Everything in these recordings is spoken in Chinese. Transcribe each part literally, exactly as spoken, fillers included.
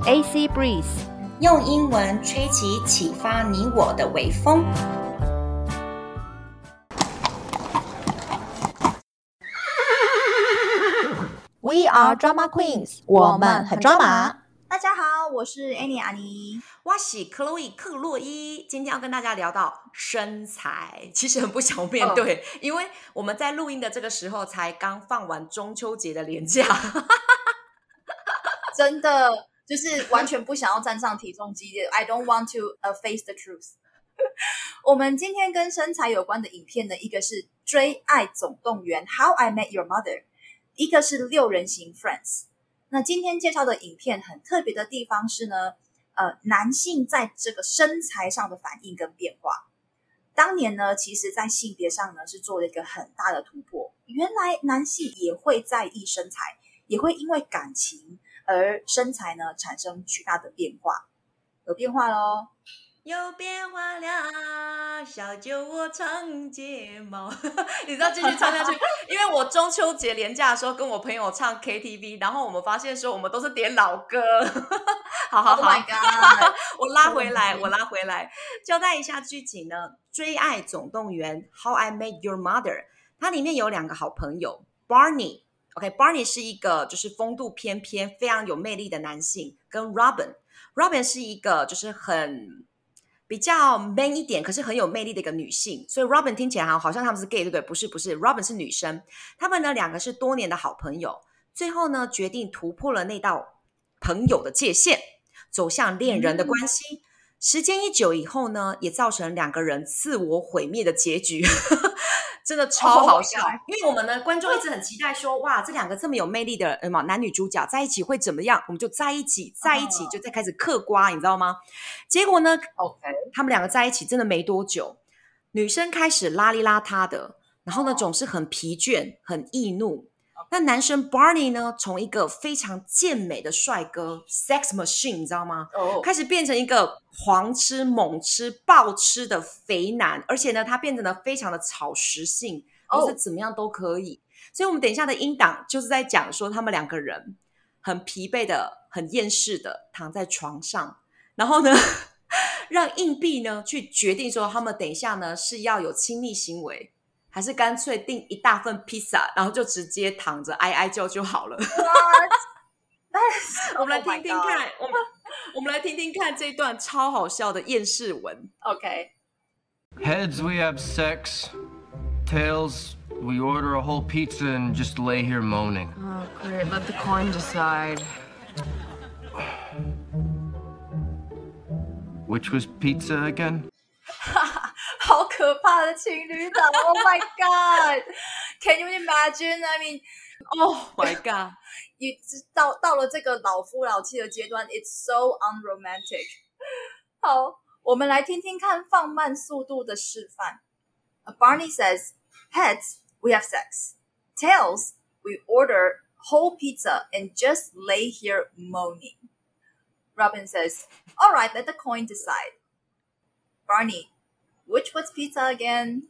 A C Breeze， 用英文吹起啟發你我的微風。 We are Drama Queens， 我們很抓馬。 大家好，我是 Annie 阿妮， 我是 Chloe 克洛伊。今天要跟大家聊到身材，其實很不想面對， oh. 因為我們在錄音的這個時候才剛放完中秋節的連假， 真的就是完全不想要站上體重機的。I don't want to uh, face the truth 。我們今天跟身材有關的影片呢，一個是《追愛總動員》How I Met Your Mother， 一個是六人行 Friends。那今天介紹的影片很特別的地方是呢，呃，男性在這個身材上的反應跟變化。當年呢，其實在性別上呢是做了一個很大的突破。原來男性也會在意身材，也會因為感情而身材呢產生巨大的變化。有變化咯， 有變化了，小酒窩長睫毛。你知道繼續唱下去，因為我中秋節連假的時候跟我朋友唱 K T V， 然後我們發現說我們都是點老歌。好好好 ，Oh my God 我拉回來，我拉回來，交代一下劇情呢，《追愛總動員》How I Met Your Mother， 它裡面有兩個好朋友 Barney。OK，Barney、okay, 是一個就是風度翩翩、非常有魅力的男性，跟 Robin。Robin 是一個就是很比較 man 一點，可是很有魅力的一個女性，所以 Robin 聽起來好像他們是 gay， 對不對？不是，不是 ，Robin 是女生。他們呢兩個是多年的好朋友，最後呢決定突破了那道朋友的界限，走向戀人的關係。嗯、時間一久以後呢，也造成兩個人自我毀滅的結局。真的超好笑， oh、因為我們呢觀眾一直很期待說，哇，這兩個這麼有魅力的呃男女主角在一起會怎麼樣？我們就在一起，在一起就再開始嗑瓜，你知道嗎？結果呢 ，OK， 他們兩個在一起真的沒多久，女生開始邋裡邋遢的，然後呢總是很疲倦、很易怒。那男生 Barney 呢，從一個非常健美的帥哥 sex machine 你知道嗎、oh. 開始變成一個狂吃猛吃暴吃的肥男，而且呢他變成了非常的草食性，就是怎麼樣都可以、oh. 所以我們等一下的音檔就是在講說他們兩個人很疲憊的很厭世的躺在床上，然後呢讓硬幣呢去決定說他們等一下呢是要有親密行為，還是乾脆訂一大份披薩，然後就直接躺着哀哀叫就好了。我們來聽聽看， oh、我們我們來聽聽看這一段超好笑的厭世文。 OK。 Heads, we have sex. Tails, we order a whole pizza and just lay here moaning. Oh, great. Let the coin decide. Which was pizza again? 好可怕的情侶檔 ！Oh my god! Can you imagine? I mean, oh my god! 你到到了這個老夫老妻的階段 ，It's so unromantic. 好，我們來聽聽看放慢速度的示範。Barney says, "Heads, we have sex. Tails, we order whole pizza and just lay here moaning." Robin says, "All right, let the coin decide." Barney.Which was pizza again?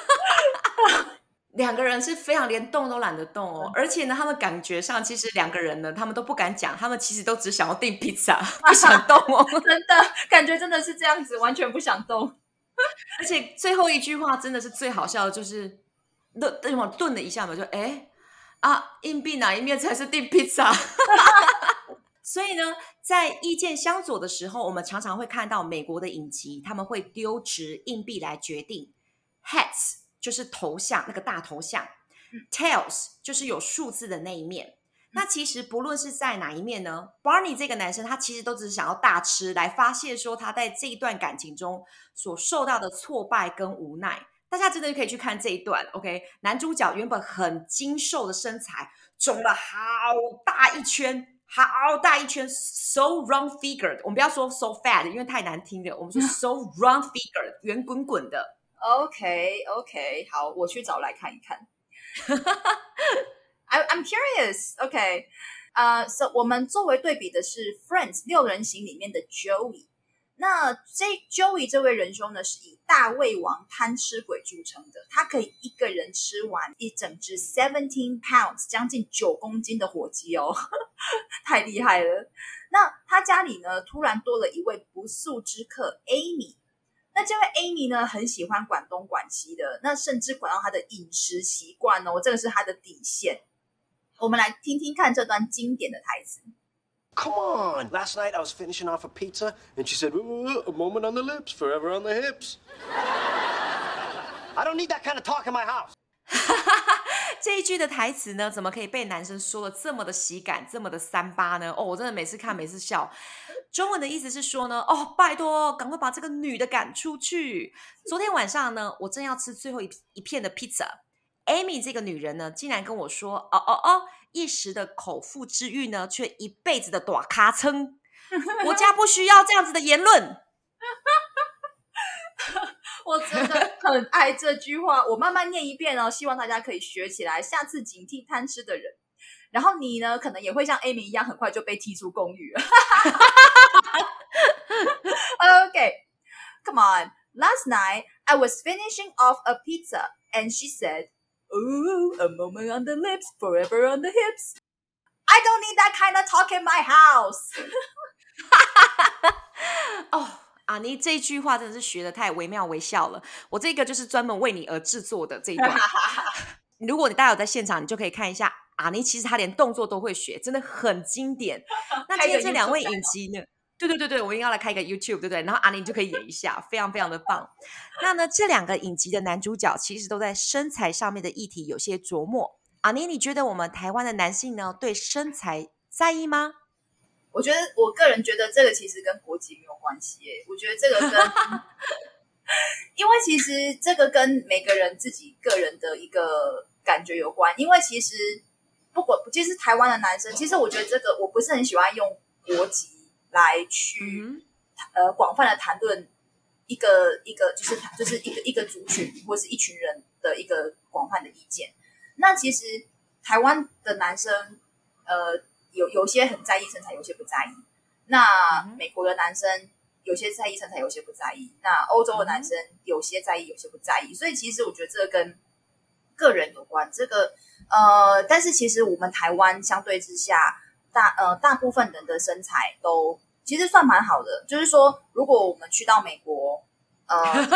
两個人是非常連動都懶得動哦，而且呢，他們感覺上其實兩個人呢，他們都不敢講，他們其實都只想要訂披薩，不想動哦。 真的，感覺真的是這樣子，完全不想動。 而且最後一句話真的是最好笑的，就是頓頓我頓了一下嘛，就哎啊，硬幣哪一面才是訂披薩？所以呢，在意見相左的時候，我們常常會看到美國的影集，他們會丟擲硬幣來決定。Heads 就是頭像，那個大頭像、嗯、Tails 就是有數字的那一面、嗯、那其實不論是在哪一面呢， Barney 這個男生他其實都只是想要大吃來發洩說他在這一段感情中所受到的挫敗跟無奈。大家真的可以去看這一段 OK， 男主角原本很精瘦的身材腫了好大一圈，好大一圈 so round figured， 我們不要說 so fat 因為太難聽了，我們說 so round figured 圓滾滾的。 OK OK 好，我去找來看一看。I, I'm curious OK 呃、uh, so 我們作為對比的是 Friends 六人行裡面的 Joey， 那這 Joey 這位仁兄呢是以大胃王貪吃鬼著稱的，他可以一個人吃完一整隻 seventeen pounds 將近九公斤的火雞哦。 太厲害了。那他家裡呢，突然多了一位不速之客 Amy。那這位 Amy 呢，很喜歡管東管西的，那甚至管到他的飲食習慣哦，這個是他的底線。我們來聽聽看這段經典的台詞。 Come on! Last night I was finishing off a pizza, and she said, "A moment on the lips, forever on the hips." I don't need that kind of talk in my house. 這一句的台詞呢，怎麼可以被男生說的這麼的喜感，這麼的三八呢？哦，我真的每次看，每次笑。中文的意思是說呢，哦，拜託，趕快把這個女的趕出去。昨天晚上呢，我正要吃最後一一片的披薩 ，Amy 這個女人呢，竟然跟我說，哦哦哦，一時的口腹之欲呢，卻一輩子的大尻川。我家不需要這樣子的言論。 我真的很愛這句話，我慢慢念一遍哦，希望大家可以學起來，下次警惕貪吃的人。然後你呢，可能也會像 Amy 一樣，很快就被踢出公寓了。Okay, come on. Last night, I was finishing off a pizza, and she said, "Ooh, a moment on the lips, forever on the hips." I don't need that kind of talk in my house. 哦。啊，你這一句話真的是學得太惟妙惟肖了。我這個就是專門為你而製作的這一段。如果你大家有在現場，你就可以看一下。阿尼其實他連動作都會學，真的很經典。那今天這兩位影集呢？對對對對，我們應該要來開一個 YouTube， 對不對？然後阿尼就可以演一下，非常非常的棒。那呢，這兩個影集的男主角其實都在身材上面的議題有些琢磨。阿尼，你覺得我們台灣的男性呢，對身材在意嗎？ 我覺得，我個人覺得這個其實跟國籍沒有關係耶。我覺得這個跟，因為其實這個跟每個人自己個人的一個感覺有關。因為其實不管，其實台灣的男生，其實我覺得這個我不是很喜歡用國籍來去、嗯、呃廣泛的談論一個一個就是就是一個一個族群或是一群人的一個廣泛的意見。那其實台灣的男生，呃。有有些很在意身材，有些不在意。那美國的男生有些在意身材，有些不在意。那歐洲的男生有些在意，有些不在意。所以其實我覺得這個跟個人有關。這個呃，但是其實我們台灣相對之下，大呃大部分人的身材都其實算蠻好的。就是說，如果我們去到美國，呃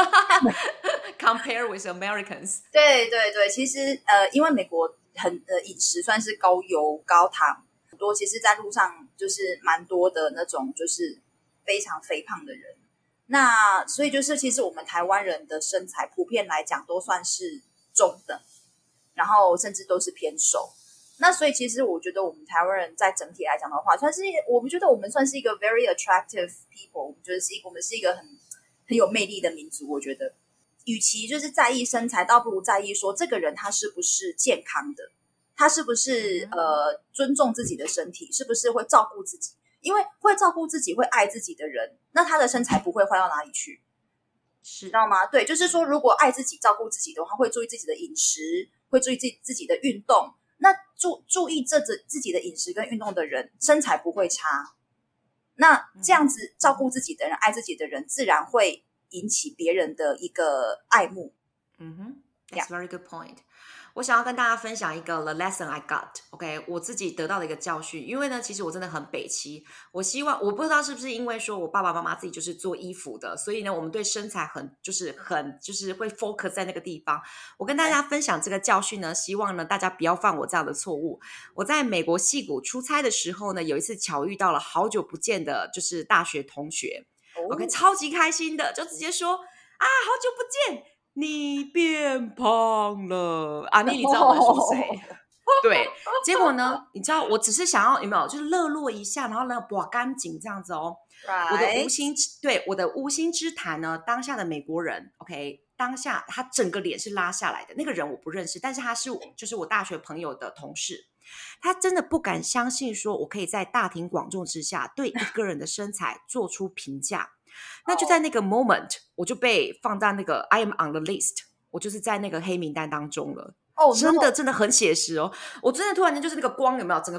，compare with Americans， 對對對，其實呃，因為美國很呃飲食算是高油高糖。多其實在路上就是蠻多的那種就是非常肥胖的人，那所以就是其實我們台灣人的身材普遍來講都算是中等，然後甚至都是偏瘦。那所以其實我覺得我們台灣人在整體來講的話，算是我們覺得我們算是一個 very attractive people， 我們覺得是我們是一個很很有魅力的民族。我覺得與其就是在意身材，倒不如在意說這個人他是不是健康的。他是不是呃尊重自己的身體？是不是會照顧自己？因為會照顧自己、會愛自己的人，那他的身材不會壞到哪裡去， 是， 知道嗎？對，就是說，如果愛自己、照顧自己的話，會注意自己的飲食，會注意自己自己的運動。那注注意這自自己的飲食跟運動的人，身材不會差。那這樣子照顧自己的人、愛自己的人，自然會引起別人的一個愛慕。 嗯哼，That's a very good point。我想要跟大家分享一個 the lesson I got，OK，、okay? 我自己得到的一個教訓。因為呢，其實我真的很北七。我希望，我不知道是不是因為說我爸爸媽媽自己就是做衣服的，所以呢，我們對身材很就是很就是會 focus 在那個地方。我跟大家分享這個教訓呢，希望呢大家不要犯我這樣的錯誤。我在美國矽谷出差的時候呢，有一次巧遇到了好久不見的，就是大學同學、oh.，OK， 超級開心的，就直接說啊，好久不見。你變胖了啊！你你知道我在說誰？對，結果呢？你知道，我只是想要有沒有，就是熱絡一下，然後呢，刮乾淨這樣子哦。Right. 我的無心對我的無心之談呢，當下的美國人 ，OK， 當下他整個臉是拉下來的。那個人我不認識，但是他是就是我大學朋友的同事，他真的不敢相信，說我可以在大庭廣眾之下對一個人的身材做出評價。那就在那個 moment， 我就被放在那個 I am on the list， 我就是在那個黑名單當中了。哦， oh, 真的真的很寫實哦！我真的突然間就是那個光有沒有整個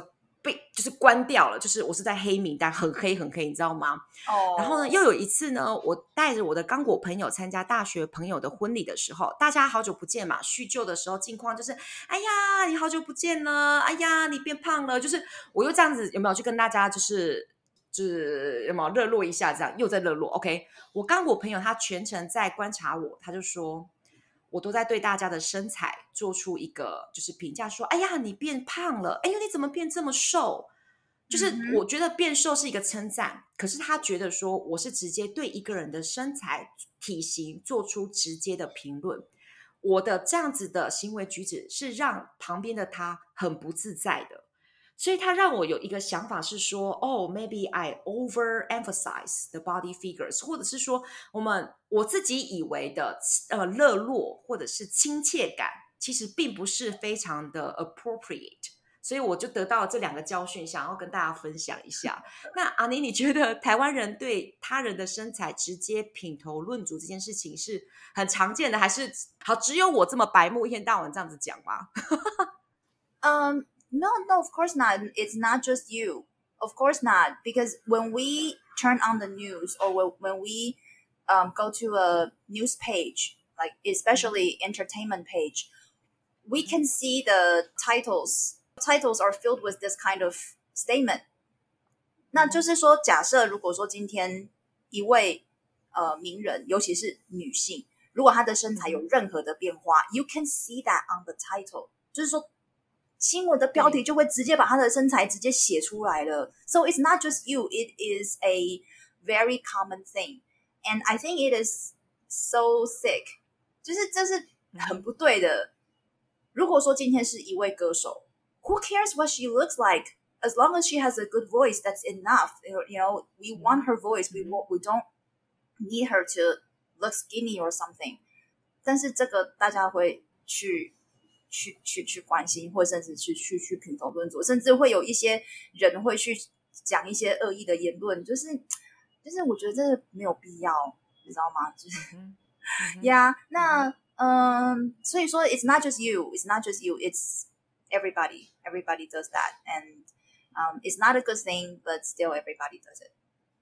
被就是關掉了，就是我是在黑名單，很黑很黑，你知道嗎？哦。然後呢，又有一次呢，我帶着我的剛果朋友參加大學朋友的婚禮的時候，大家好久不見嘛，敘舊的時候近況就是，哎呀，你好久不見了，哎呀，你變胖了，就是我又這樣子有沒有去跟大家就是就是有沒有熱絡一下，這樣又在熱絡。OK， 我剛果朋友他全程在觀察我，他就說。我都在對大家的身材做出一個就是評價，說：“哎呀，你變胖了！哎呦，你怎麼變這麼瘦？”就是我覺得變瘦是一個稱讚，嗯、可是他覺得說我是直接對一個人的身材體型做出直接的評論，我的這樣子的行為舉止是讓旁邊的他很不自在的。所以他讓我有一個想法是說，哦 ，maybe I overemphasize the body figures， 或者是說，我們我自己以為的呃熱絡或者是親切感，其實並不是非常的 appropriate。所以我就得到了這兩個教訓，想要跟大家分享一下。那阿妮，你覺得台灣人對他人的身材直接品頭論足這件事情是很常見的，還是好只有我這麼白目一天到晚這樣子講嗎？ 嗯。No, no, of course not. It's not just you. Of course not. Because when we turn on the news or when we um, go to a news page, like especially entertainment page, we can see the titles. Titles are filled with this kind of statement. 那就是說，假設如果說今天一位呃名人，尤其是女性，如果她的身材有任何的變化， you can see that on the title. 就是說。新聞的標題就會直接把他的身材直接寫出來了。So it's not just you, it is a very common thing. And I think it is so sick. 就是這是很不對的。如果說今天是一位歌手 who cares what she looks like? As long as she has a good voice, that's enough. You know, we want her voice. We, we don't need her to look skinny or something. 但是這個大家會去去去去關心，或甚至去去去品頭論足，甚至會有一些人會去講一些惡意的言論，就是就是我覺得這個沒有必要，你知道嗎？就是呀， yeah, 那嗯，所以說 it's not just you, it's not just you, it's everybody, everybody does that, and um, it's not a good thing, but still everybody does it.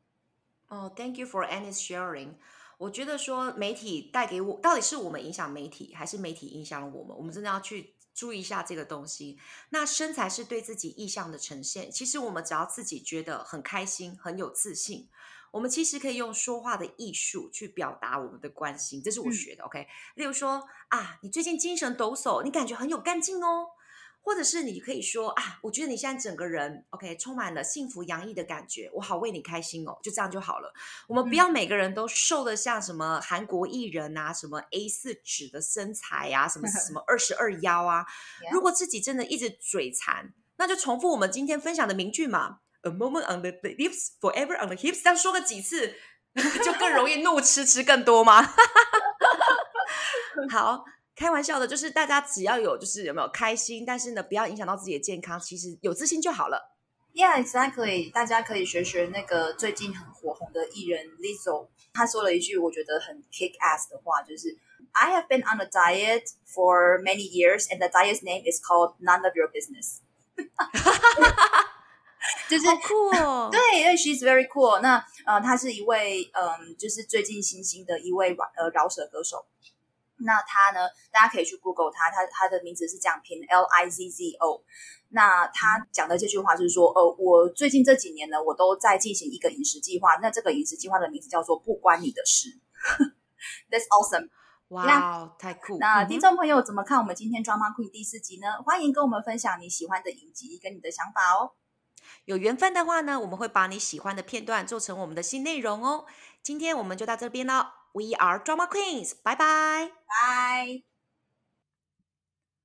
Oh, thank you for Annie's sharing. 我覺得說媒體帶給我，到底是我們影響媒體，還是媒體影響了我們？我們真的要去注意一下這個東西。那身材是對自己意向的呈現，其實我們只要自己覺得很開心、很有自信，我們其實可以用說話的藝術去表達我們的關心。這是我學的、嗯、OK。例如說啊，你最近精神抖擻，你感覺很有幹勁哦。或者是你可以說啊，我覺得你現在整個人 OK 充滿了幸福洋溢的感覺，我好為你開心哦，就這樣就好了。我們不要每個人都瘦得像什麼韓國藝人啊，什麼 A 四 紙的身材啊，什麼什麼二十二腰啊。如果自己真的一直嘴饞，那就重複我們今天分享的名句嘛 ，A moment on the lips, forever on the hips， 這樣說個幾次，就更容易怒吃吃更多嗎？好。開玩笑的，就是大家只要有，就是有沒有開心，但是呢，不要影響到自己的健康，其實有自信就好了。 Yeah, exactly. 大家可以學學那個最近很火紅的藝人 Lizzo， 他說了一句我覺得很 kick ass 的話，就是 I have been on a diet for many years, and the diet's name is called None of Your Business. 就是好酷哦， 對，因為 she's very cool。那呃，他是一位嗯、呃，就是最近新興的一位呃饒舌歌手。那他呢？大家可以去 Google 他，他他的名字是這樣拼 L I Z Z O。那他講的這句話就是說，呃，我最近這幾年呢，我都在進行一個飲食計劃。那這個飲食計劃的名字叫做“不關你的事”。That's awesome！ 哇、wow, 太酷！ 那聽眾朋友怎麼看我們今天 Drama Queen 第四集呢？歡迎跟我們分享你喜歡的影集跟你的想法哦。 有緣分的話呢，我們會把你喜歡的片段做成我們的新內容哦。今天我們就到這邊了。We are Drama Queens，拜拜， 拜。